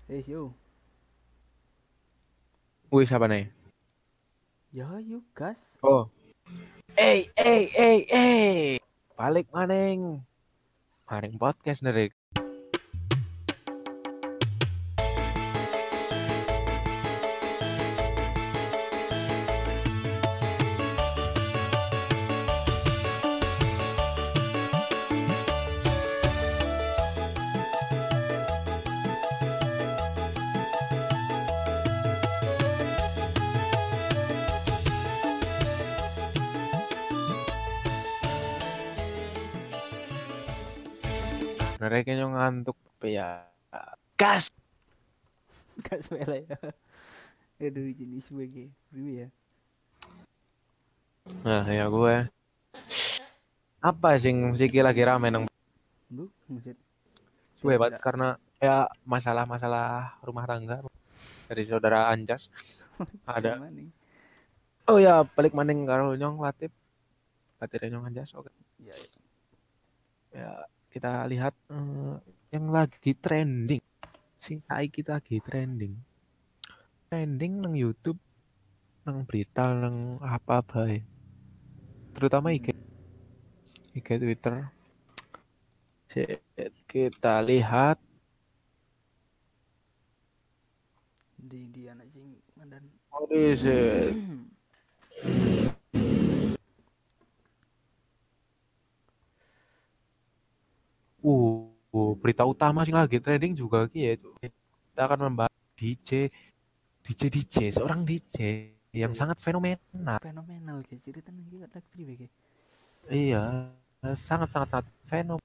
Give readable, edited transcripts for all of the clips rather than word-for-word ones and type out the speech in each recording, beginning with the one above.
Yo. Wih, siapa nih? Ya, yuk gas. Oh. Balik maning. Maning podcast nih. Sebenarnya kayaknya ngantuk tapi ya gas. Gas mele ya. Aduh, jenis sebagai priwe ya. Nah, ya gue. Apa sih musik lagi rame nang Bu, maksud gue banget tidak karena ya masalah rumah tangga dari saudara Anjas kayak ada. mana nih? Oh ya, balik maning karo Nyong Latif. Latif Nyong Anjas. Oke. Ya, ya. Ya, kita lihat yang lagi trending. Sing saiki lagi trending. Trending nang YouTube, nang berita, nang apa bae. Terutama IG Twitter. Kita lihat. Di anak sing mandan. What is it? Berita utama sih lagi trending juga gitu. Kita akan membahas DJ, seorang DJ yang Ya, ya. sangat fenomenal. Fenomenal guys. Cerita nih kita priwe guys. Iya, sangat fenomenal.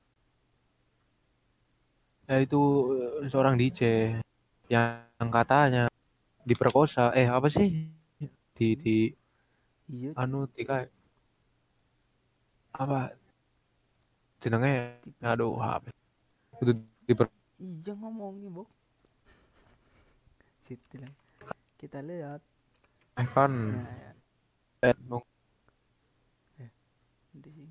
Yaitu seorang DJ yang katanya diperkosa. Apa sih? Di Iya, anu cuy. kayak apa jenenge? Aduh, apa? Itu diper Iya ngomongin, Bok. Situ lah. Kita lihat. kan Nah, ya. Di sini.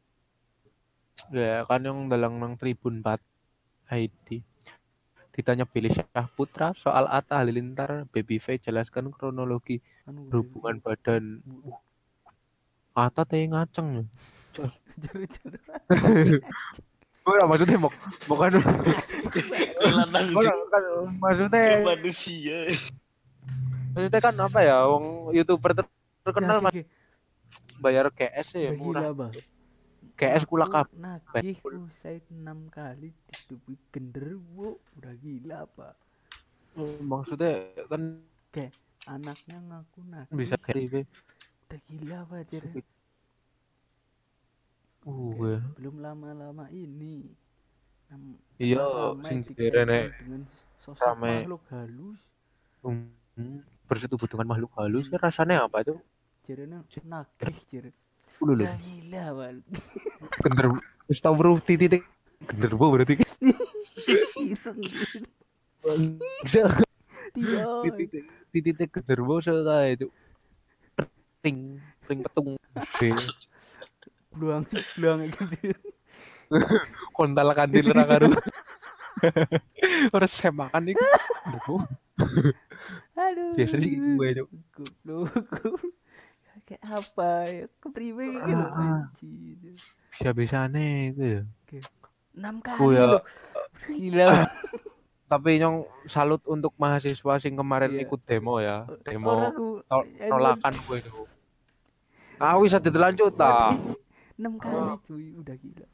ya kan yang dalang nang Tribun 4 ID. Ditanya Billy Syahputra soal Atta Halilintar, Babyface jelaskan kronologi Anu hubungan review. badan. Atta teh ngaceng. Jare-jare. Ora maksudnya bukan Lanang maksudnya manusia. maksudnya kan apa ya wong YouTuber terkenal Ya, mas bayar KS ya udah murah. gila, Bang. KS kula kabeh. Nagih usai 6 kali ditubuhi genderuwo. Udah gila, Pak. Maksudnya kan Kayak anaknya ngaku nagih. bisa kayak Udah gila, Pak, Cer. Belum lama-lama ini. iya Ramai sing dikaitkan dengan sosok rame makhluk halus. bersetubuh dengan makhluk halus kan rasanya apa tuh? Cernya nagih, Cer. Lho. Udah gila, Pak. Gender wis tau weruh titik genderwo berarti kan. Titik genderwo sekali itu. Ring petung. Beluang gitu. Kontal kandil ra karo. Ora semakan iku. Aduh. Biasa sih gue itu. Goblok. Kayak apa ya? Kepriwe gitu anjir. Bisa-bisane itu ya. 6 kali loh. Gila. Tapi nyong salut untuk mahasiswa sing kemarin ikut demo ya. Demo nolakan gue itu. Bisa dilanjut ta. 6 kali cuy, udah gila.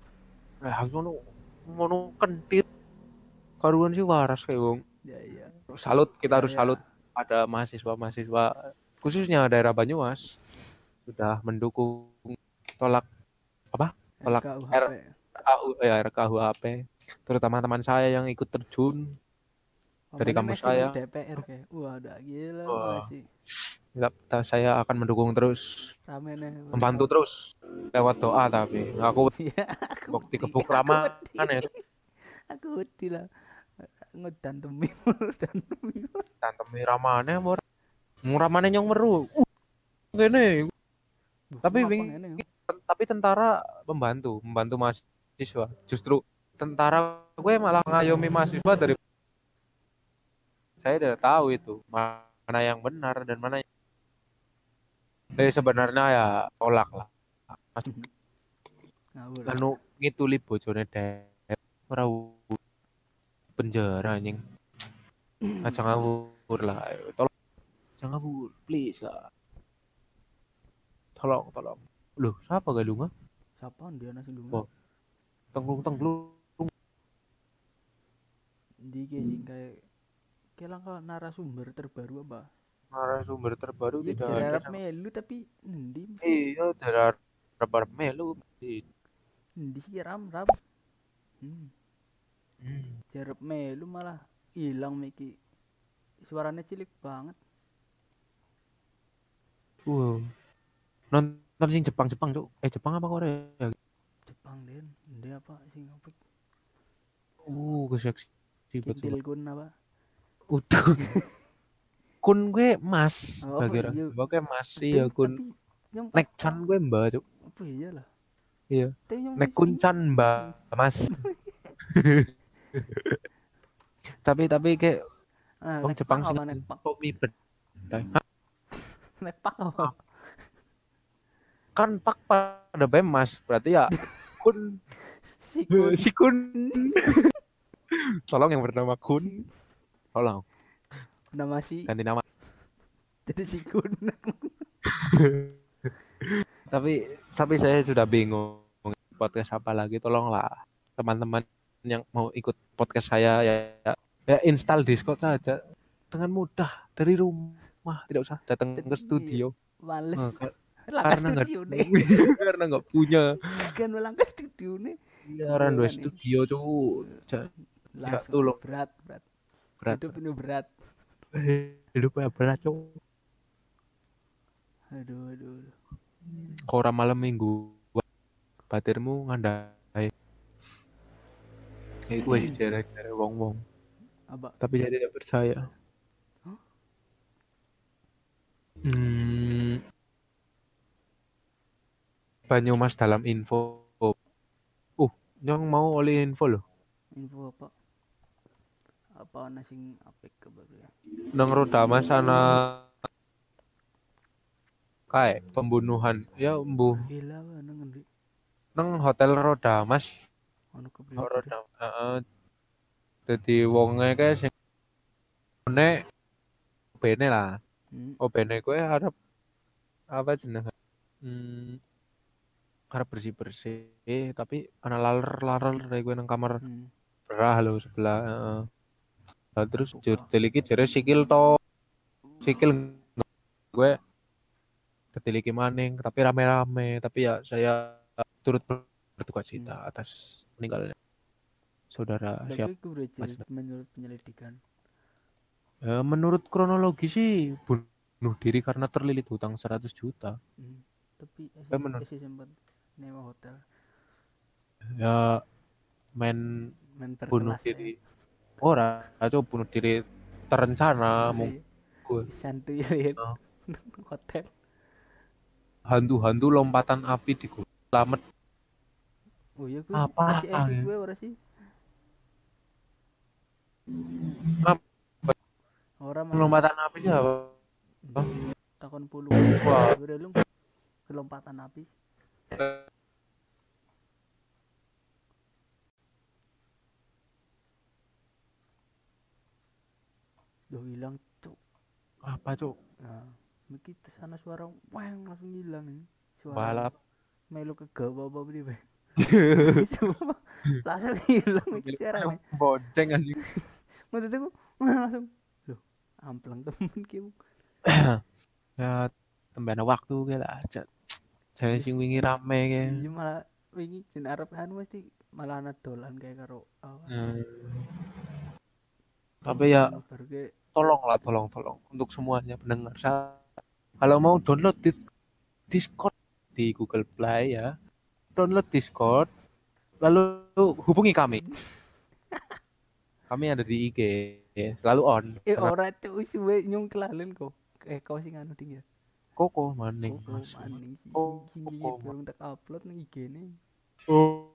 Ngono kentir. Karuan sih waras kayak wong. Ya. Salut, kita harus salut pada mahasiswa-mahasiswa khususnya daerah Banyumas sudah mendukung tolak RKUHP, terutama teman saya yang ikut terjun dari kampus saya. DPR kayak, wah udah gila masih. Saya akan mendukung terus, membantu terus lewat doa tapi aku bukti kebuk ramah ya. Aku tidak ngedantemi ramane muramane nyong meru. Ngene. Tapi tentara membantu mahasiswa. Justru tentara gue malah ngayomi mahasiswa dari Saya tidak tahu itu mana yang benar dan mana yang sebenarnya ya tolak lah. Mas Ngawur. anu ngituli bojone dek ora penjara anjing. Aja ngawur lah. Ayo, tolong jangan ngawur, please lah. Tolong. Loh, siapa galunga? Siapa dia nasi lunga? Oh. Tengklung. Di sing kayak langkah narasumber terbaru apa? Narasumber terbaru Ya tidak ada. jarap melu tapi endi Iya, tidak ada melu. endi sih ram. Jarap melu malah hilang Miki. Suaranya cilik banget. Wow. Nonton sing Jepang, Cuk. Jepang apa Korea? Jepang Den. Endi apa sing apik? Keseksi Kintil kun apa? Udah. Kun gue mas. Oh, Kira-kira. iya. Gue mas iya kun. Nek chan gue mbak, Cuk. Apa iya lah. Iya. Nek kun chan mbak, mas. tapi kayak wong Jepang sing nek pak. kopi bedai. Nek pak apa? Kan pak pada bemas, berarti ya kun si kun. Tolong yang bernama kun. Tolong. Nama si Ganti nama. jadi si kun. tapi saya sudah bingung podcast apa lagi. Tolonglah teman-teman yang mau ikut podcast saya ya install Discord saja dengan mudah dari rumah, tidak usah datang ke studio. Males. Karena nggak punya. Kan ulang ke studio nih. Iya, randu studio Cuk. Ya tolong. Berat. Hidup ini berat. Hidupnya berat Cuk. Aduh. Kora malam minggu batirmu ngandai. Gue sih cara wong. Apa? Tapi saya tidak percaya. Huh? Banyumas dalam info. Nyong mau oleh info loh. Info apa? Apa ana sing apik kabar ya? Nang Rodamas ana kayak pembunuhan ya mbuh. Gila wae nang endi? Nang hotel Rodamas. Ono kepriwe? Dadi wonge kae sing nek bene lah. Bene kowe harap apa jenenge? Harap bersih tapi ana laler dari gue nang kamar berah lo sebelah terus diliki jare sikil gue ketiliki maning tapi rame-rame tapi ya saya turut berduka cita atas meninggalnya saudara siapa menurut penyelidikan menurut kronologi sih bunuh diri karena terlilit hutang 100 juta tapi sempat nyewa hotel ya main bunuh diri bunuh diri terencana mungkin santuy ya hotel hantu lompatan api di Slamet. Oh iya gue apa gue ora sih orang lompatan api sih apa takon puluh wah lu kelompatan api hilang Cuk. Apa Cuk? Nah, begitu sana suara wang langsung hilang nih. Suara balap melu ke apa priwe. Langsung hilang iki suara. Bonceng anjing. Maksudku langsung loh, amplang temen ki. Ya tembana waktu ge lah. Saya sing wingi rame ge. Iya malah wingi jen arep kan mesti malah ana dolan kayak karo tapi ya tolong untuk semuanya pendengar kalau mau download Discord di Google Play ya download Discord lalu hubungi kami ada di IG selalu on ora cuy suwe nyung kelalen kok kau sing anu ding ya Koko maning sing belum tak upload nang IG-ne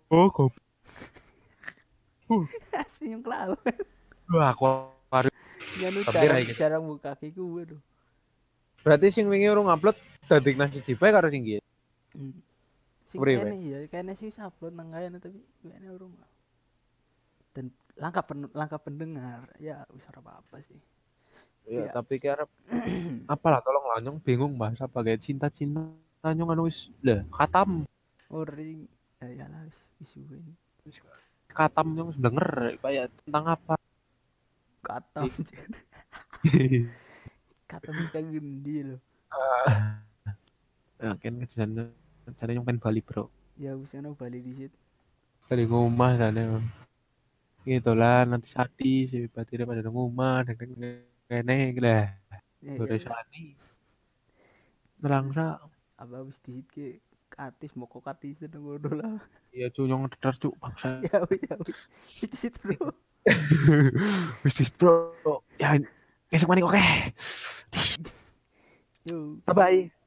kok asli nyung kelalen wah aku Nganu Tapi ra iki. jarang buka kaki gue tuh. Berarti sing wingi urung upload dadi nang siji bae karo sing iki. Sing Priwe? kene ya, kene sih upload nang kene tapi kene urung. Dan langkah pendengar ya wis ora apa-apa sih. Ya, Iya. tapi ki arep apalah tolong lah nyong bingung bahasa pakai cinta-cinta nyong anu wis lah katam. Ori ya lah wis ini. Katam nyong wis denger kayak tentang apa. Katam. Katam wis kagendi lho. Ya kan jane nyong pengen Bali, Bro. Ya wis ana Bali disit. Dari rumah jane. Gitu lah nanti sadis si batire pada nang omah kene lah. Sore Ya, sani. Terang sa. apa wis disit ke katis mau kok katis nang ngono lah. Iya cu nyong teter cuk bangsa. Ya wis wis disit bro. Wis bro. Ya esuk maning oke. Yo. Bye bye.